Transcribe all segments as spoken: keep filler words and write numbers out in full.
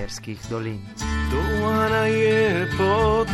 terskih dolin. Dolana je pot.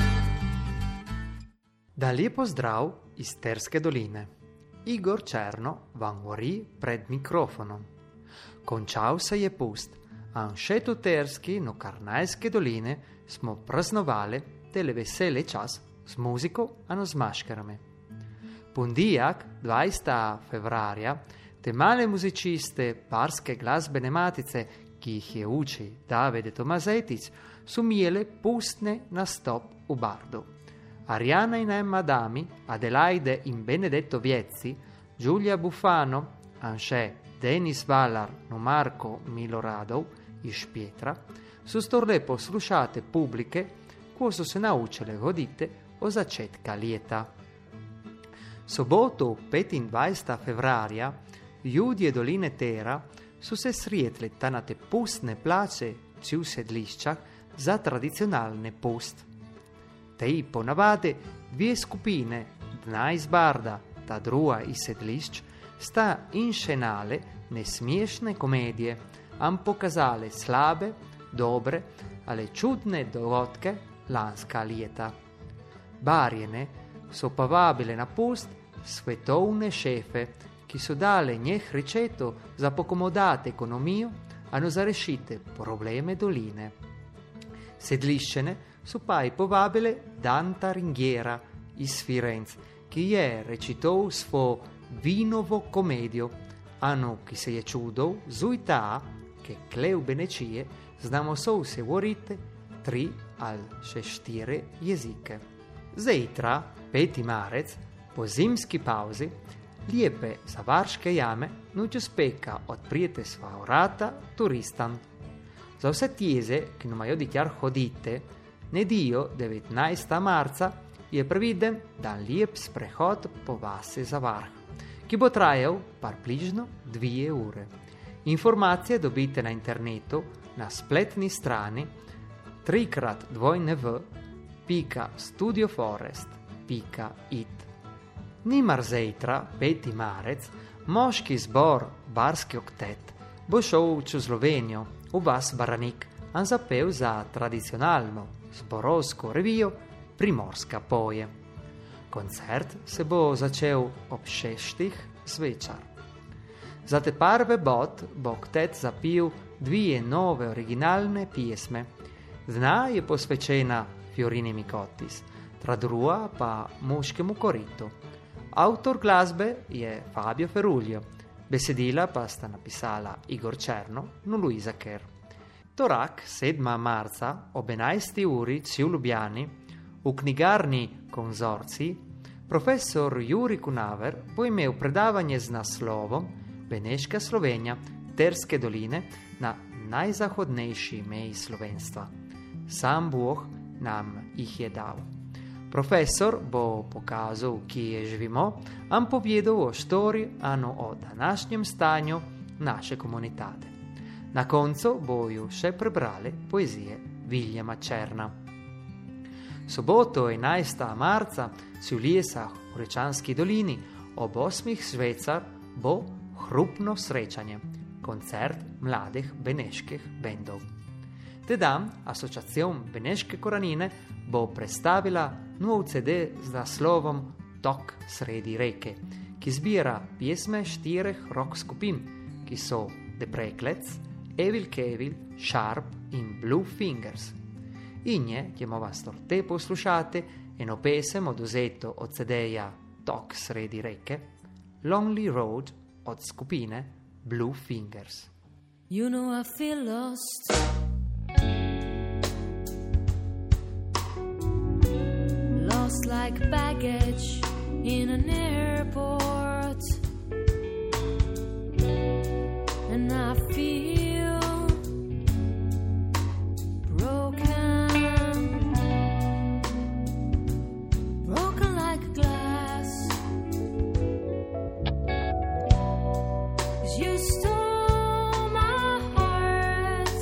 Da lep pozdrav iz Terske doline. Igor Černo vam govori pred mikrofonom. Končal se je pust, a še tu Terski, no Karnajske doline, smo praznovali tele vesele čas z muziko, ano z maškarami. Pondijak, dvajsetega februarja, te male muziciste Barske glasbene matice, ki jih je uči Davide Tomazetič, su imele pustne nastop v Bardu. Ariana in Emma Dami, Adelaide in Benedetto Viezzi, Giulia Buffano, anche Denis Valar no Marco Miloradov iz Pietra, su storle poslušate publike, ko su se naučile godite o začetka leta. Soboto petindvajsetega februarja, ljudje doline Tera su se srijetli na te pustne place v sedliščah za tradicionalne pust. Tej ponavade dvije skupine, dna iz Barda, ta druga iz sedlišč, sta inscenale nesmiešne komedije, am pokazale slabe, dobre, ale čudne dogodke lanska leta. Barjene so povabile na pust svetovne šefe, ki so dale njeh receto za pocomodate ekonomijo, ano za rešite probleme doline. Sedliščene so pa i povabile Danta Ringhiera iz Firenze, ki je recital svo vinovo komedijo, ano ki se je čudov zuita, che kleu benecije znamo so se govorite tri al še štire jezike. Zejtra, peti marec, po zimski pauzi, lijepe zavarške jame nuče speka odprijete sva vrata turistan. Za vse tjeze, ki nam jo dikjar hodite, nedio devetnajstega marca je previden dan lijep sprehod po vasi Zavarh, ki bo trajal približno dvije ure. Informacije dobite na internetu na spletni strani trikrat dvojne v pika studioforest pika it. Nimar zejtra, peti marec, moški zbor Barski oktet bo šel v Slovenijo, v vas Baranik, an zapel za tradicionalno zborovsko revijo Primorska poje. Koncert se bo začel ob šestih zvečer. Za te prve bod bo oktet zapil dvije nove originalne pjesme. Dna je posvečena Fiorini Mikotis, tra druga pa Muškemu koritu. Avtor glasbe je Fabio Ferruglio, besedila pa sta napisala Igor Černo in Luisa Ker. Torak, sedmega marca, ob enajsti uri v Ljubljani, v knjigarni Konzorcij, profesor Juri Kunaver bo imel predavanje z naslovom Beneška Slovenija, Terske doline na najzahodnejši meji slovenstva. Sam Bog nam jih je dal. Profesor bo pokazal, kje živimo, am povedal o štori, ano o današnjem stanju naše komunitate. Na koncu bojo še prebrali poezije Viljama Černa. Soboto enajstega marca v Ljesah v Rečanski dolini ob osmih zvečer bo hrupno srečanje, koncert mladih beneških bendov. Teda Asociacion Beneške koranine bo predstavila nov ce de z naslovom Tok sredi reke, ki zbira pjesme štirih rock skupin, ki so The Preklets, Evil Kevil, Sharp in Blue Fingers. In je, ćemo vas torte poslušati, eno pesem oduzeto od ce de-ja Tok sredi reke, Lonely Road od skupine Blue Fingers. You know I feel lost. Lost like baggage in an airport. And I feel broken. Broken like glass. 'Cause you stole my heart.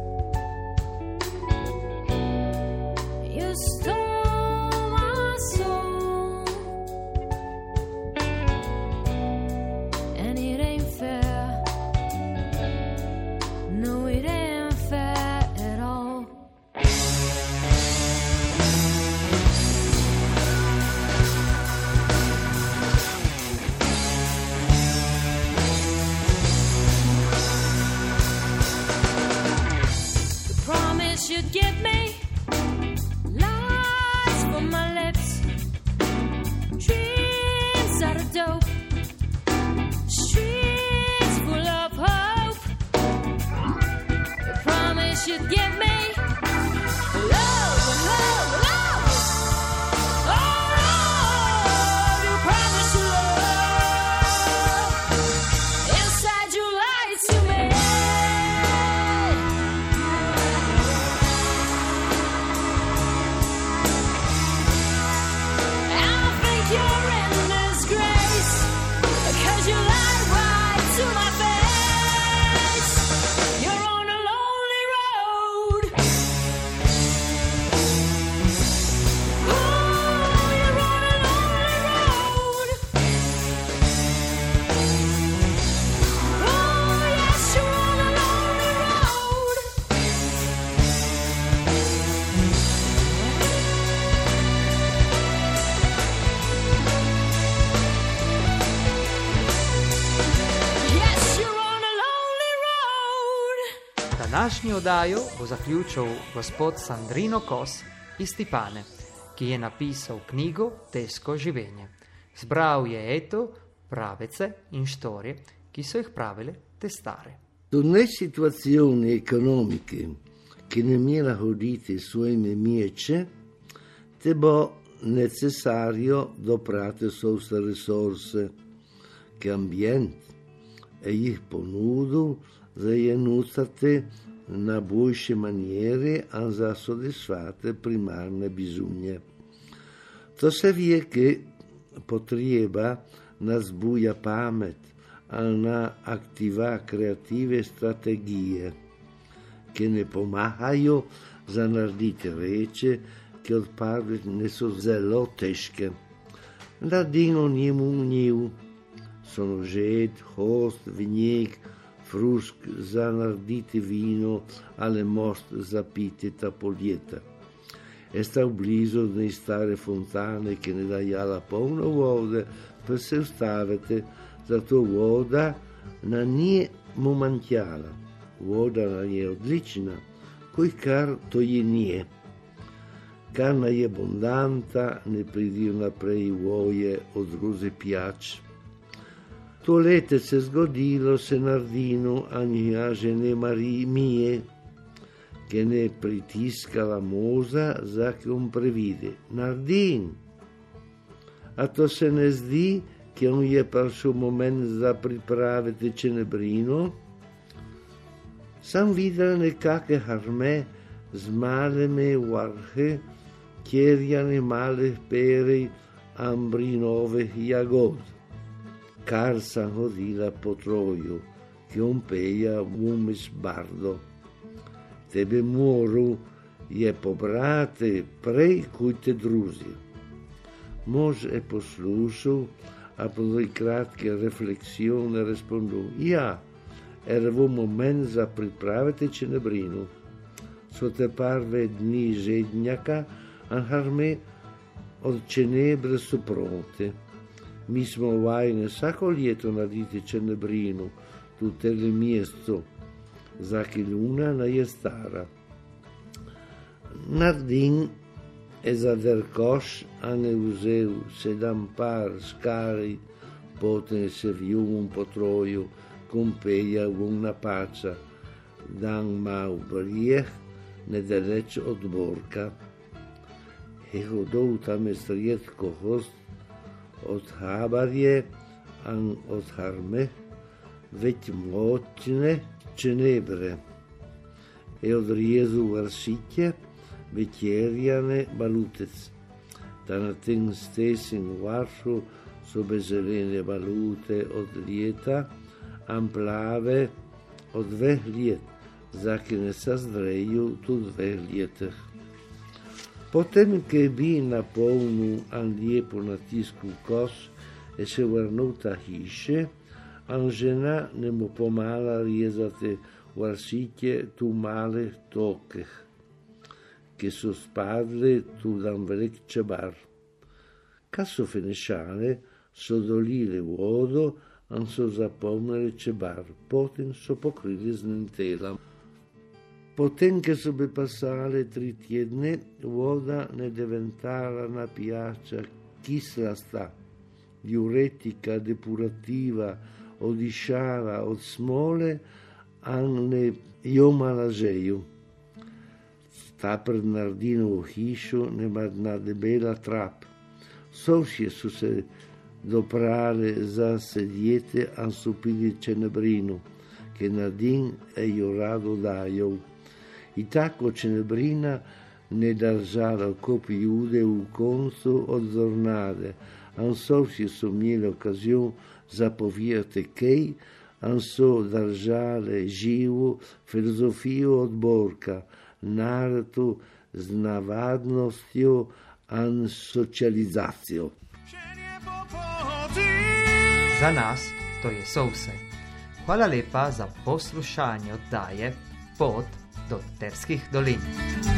You stole my soul. Današnji oddajo bo zaključil gospod Sandrino Kos iz Stipane, ki je napisal knjigo Težko življenje. Zbral je eto pravece in štorije, ki so jih pravile te stare. In nelle situazioni economiche che nemmeno hodite suoi miece, te bo necessario doprate soste risorse che ambient e jih ponudu zajenusate na boljše maniere a za soddisfate primarne bisogni. To se vie che potreba nas buja pamet a na aktiva kreative strategije, che ne pomagajo za narediti reče, ki odpadli ne so zelo težke. Naredimo njemu njiv, sonožet, host, vinjek, frušk za narediti vino ali most za piti ta poljeta. E sta blizu dne stare fontane, ki ne dajala polno vode, pa se ustavite, zato voda na nje mu manjkala. Voda na nje odlična, koji kar to je nje. Kar na je abondanta, ne pridi naprej voje od druze pijač. To lete se zgodilo se Nardinu, a nja žene Marije mije, che ne pritiskala moza za che on previde. Nardin! A to se ne zdi, che on je prišel moment za pripraviti čenebrino? Sam videl nekake harme z maleme varhe, kjerjane malih perej, ambrinove jagod. Kar sam hodila po troju, che on peja vumis bardo. Tebe moru je pobrate prej kuj te druzi. Mož je poslušal, a po dvoj kratke refleksione respondil, ja, erevo moment za pripraviti čenebrinu. So te prve dni žednjaka, a harme od čenebre su pronte. Mi smo vajne vsako ljeto narediti čenebrinu, tu tele mjesto, za che luna na je stara. Nardin e za derkoš, a ne vzel sedam par skari, potem se vjum po troju, kompeja vuna pača, dan mal brijeh, nedaleč od Borka. E hodov tam je strijetko host, od habarje, an od harme, već moćne čenebre, e od rijezu varšitje, večerjane balutec. Da na tem stesim varšu so bezelene balute od ljeta, an plave od dveh ljet, za ki ne sa zdreju tu dveh ljeteh. Potem, che bi napolnil an lijepo natisku kos e se vrnul ta hiše, an žena ne mu pomala rezati varšitje tu male tokeh, che so spadle tu dan velik čebar. Kad so finišale, so dolile vodo, an so zapolnili čebar, potem so pokrili z nentelom. Potem, che so bi passale tri tjedne, voda ne diventala na pijača kislasta, diuretica, depurativa, odišala od smole, a ne jomala žeju. Ta pred Nardinovo hišo nema dna debela trap. Sovšje su se doprale za sedjete, a su pili čenebrinu, che Nardin e jo rado dajou. I tako čenebrina ne držala kopi jude u koncu od zornade, an sovšje su imeli okazion zapovijati kej, an so držale živu filozofijo od Borka, naretu z navadnostjo an socializacijo. Za nas to je so vse. Hvala lepa za poslušanje oddaje Pot do Terskih dolin.